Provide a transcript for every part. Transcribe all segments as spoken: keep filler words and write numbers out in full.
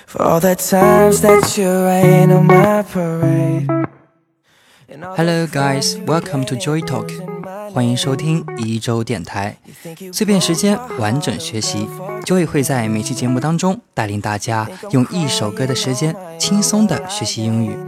For all the times that you rain on my parade.Hello guys, welcome to Joy Talk. 欢迎收听一周电台，碎片时间，完整学习。Joy 会在每期节目当中带领大家用一首歌的时间，轻松的学习英语。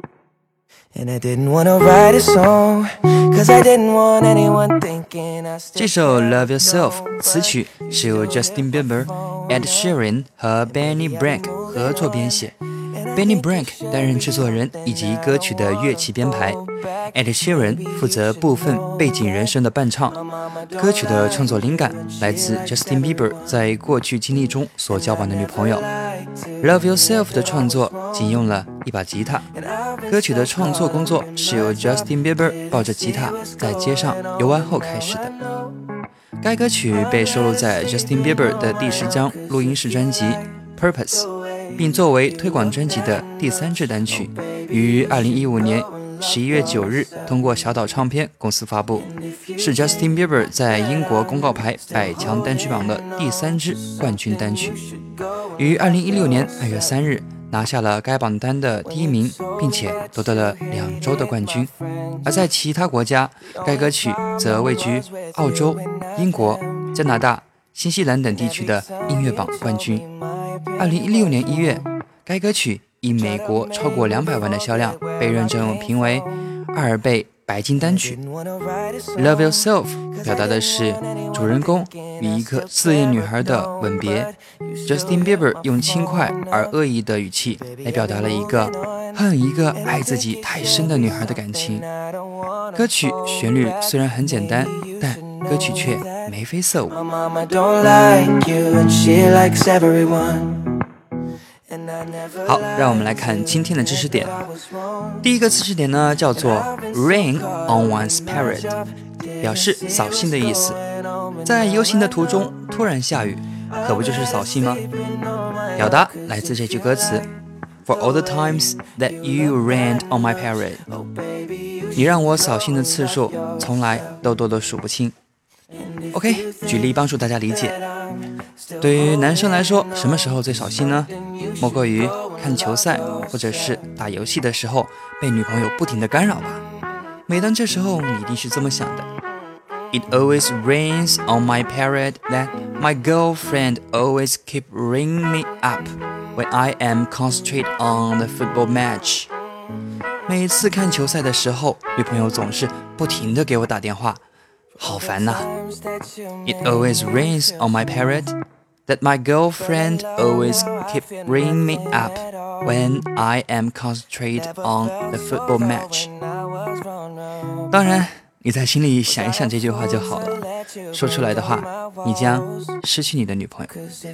这首 Love Yourself 词曲是由 Justin Bieber、Ed Sheeran 和 Benny Blank 合作编写。Benny Blank 担任制作人以及歌曲的乐器编排 Ed Sheeran 负责部分背景人声的伴唱。歌曲的创作灵感来自 Justin Bieber 在过去经历中所交往的女朋友。 Love Yourself 的创作仅用了一把吉他。歌曲的创作工作是由 Justin Bieber 抱着吉他在街上游玩后开始的。该歌曲被收录在 Justin Bieber 的第十张录音室专辑 Purpose，并作为推广专辑的第三支单曲，于二零一五年十一月九日通过小岛唱片公司发布，是 Justin Bieber 在英国公告牌百强单曲榜的第三支冠军单曲，于二零一六年二月三日拿下了该榜单的第一名，并且夺得了两周的冠军。而在其他国家，该歌曲则位居澳洲、英国、加拿大、新西兰等地区的音乐榜冠军。二零一六年一月，该歌曲以美国超过两百万的销量被认证评为阿尔贝白金单曲。 Love Yourself 表达的是主人公与一个自恋女孩的吻别。 Justin Bieber 用轻快而恶意的语气来表达了一个恨一个爱自己太深的女孩的感情。歌曲旋律虽然很简单，但歌曲却眉飞色舞。好，让我们来看今天的知识点。第一个知识点呢，叫做 rain on one's parade， 表示扫兴的意思。在游行的途中突然下雨，可不就是扫兴吗？表达来自这句歌词 For all the times that you rained on my parade， 你让我扫兴的次数从来都多得数不清。 OK， 举例帮助大家理解。对于男生来说，什么时候最扫兴呢？莫过于看球赛或者是打游戏的时候被女朋友不停地干扰吧。每当这时候，你一定是这么想的。 It always rains on my parade that my girlfriend always keep ringing me up when I am concentrate on the football match。 每次看球赛的时候，女朋友总是不停地给我打电话，好烦呐。 It always rains on my parade that my girlfriend always keep ringing me up when I am concentrate on the football match。 当然你在心里想一想这句话就好了，说出来的话你将失去你的女朋友。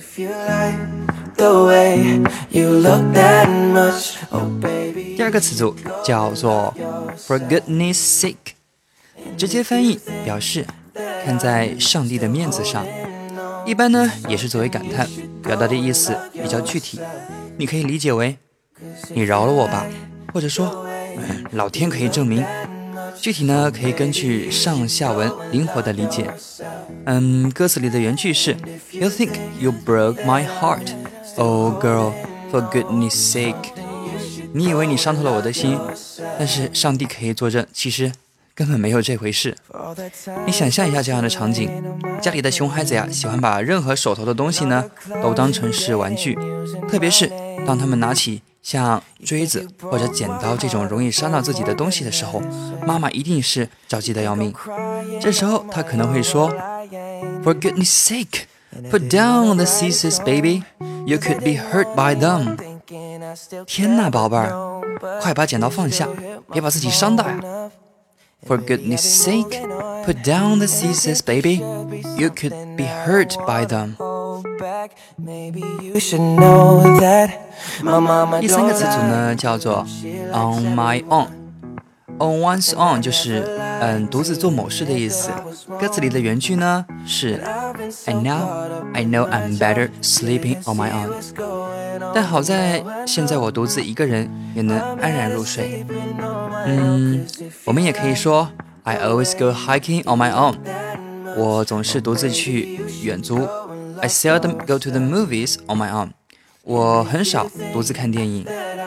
第二个词组叫做 For goodness sake， 直接翻译表示看在上帝的面子上，一般呢也是作为感叹，表达的意思比较具体。你可以理解为你饶了我吧，或者说老天可以证明。具体呢可以根据上下文灵活的理解。嗯，歌词里的原句是 You think you broke my heart, oh girl, for goodness sake。 你以为你伤透了我的心，但是上帝可以作证，其实根本没有这回事。你想象一下这样的场景，家里的熊孩子呀，喜欢把任何手头的东西呢都当成是玩具，特别是当他们拿起像锥子或者剪刀这种容易伤到自己的东西的时候，妈妈一定是着急的要命。这时候她可能会说 For goodness sake, put down the scissors, baby. You could be hurt by them. 天哪，宝贝儿，快把剪刀放下，别把自己伤到呀。For goodness sake, put down the scissors, baby. You could be hurt by them. 第三个词组呢，叫做 on my own。On one's own 就是嗯独自做某事的意思。歌词里的原句呢是 And now I know I'm better sleeping on my own。 但好在现在我独自一个人也能安然入睡。嗯，我们也可以说 I always go hiking on my own。 我总是独自去远足。I seldom go to the movies on my own。 我很少独自看电影。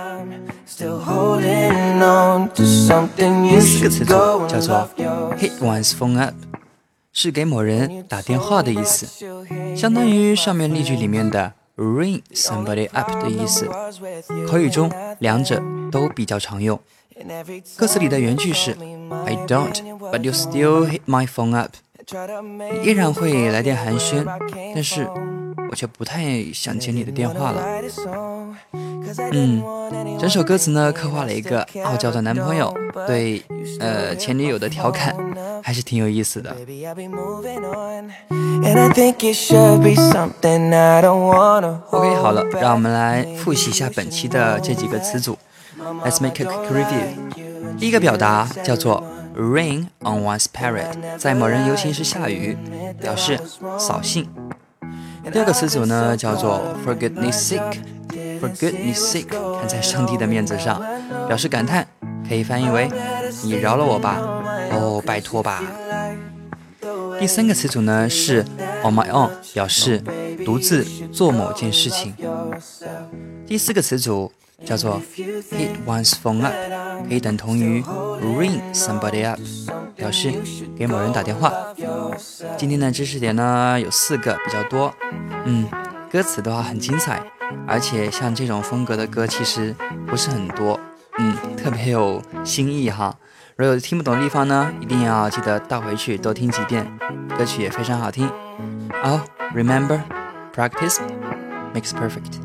第四个词组叫做 hit one's phone up， 是给某人打电话的意思，相当于上面例句里面的 ring somebody up 的意思。口语中两者都比较常用。歌词里的原句是 I don't, but you still hit my phone up。 你依然会来电寒暄，但是我却不太想接你的电话了。嗯，整首歌词呢刻画了一个傲娇的男朋友对呃前女友的调侃，还是挺有意思的。OK， 好了，让我们来复习一下本期的这几个词组。Let's make a quick review。 第一个表达叫做 rain on one's parade， 在某人游行时下雨，表示扫兴。第二个词组呢叫做 for goodness sake，For goodness sake， 看在上帝的面子上，表示感叹，可以翻译为你饶了我吧，哦，拜托吧。第三个词组呢是 on my own， 表示独自做某件事情。第四个词组叫做 hit one's phone up， 可以等同于 ring somebody up， 表示给某人打电话。今天的知识点呢有四个，比较多。嗯，歌词的话很精彩，而且像这种风格的歌其实不是很多，嗯，特别有新意哈。如果有听不懂的地方呢，一定要记得倒回去多听几遍，歌曲也非常好听。Oh, remember, practice makes perfect.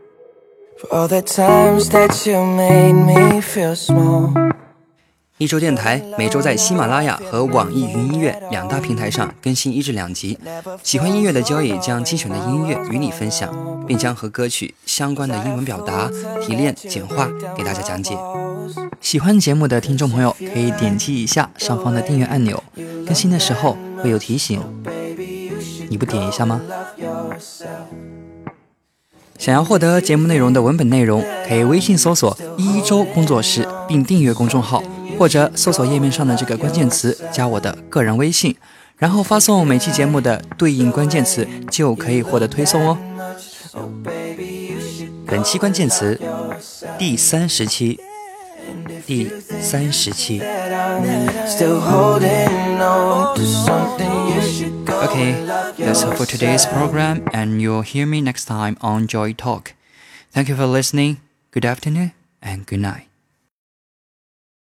For all the times that you made me feel small。 一周电台每周在喜马拉雅和网易云音乐两大平台上更新一至两集。喜欢音乐的交易将精选的音乐与你分享，并将和歌曲相关的英文表达提炼简化给大家讲解。喜欢节目的听众朋友可以点击一下上方的订阅按钮，更新的时候会有提醒，你不点一下吗？想要获得节目内容的文本内容，可以微信搜索一周工作室并订阅公众号，或者搜索页面上的这个关键词加我的个人微信，然后发送每期节目的对应关键词，就可以获得推送哦。本期关键词第三十期，第三十期。Okay, that's all for today's program, and you'll hear me next time on Joy Talk. Thank you for listening. Good afternoon and good night.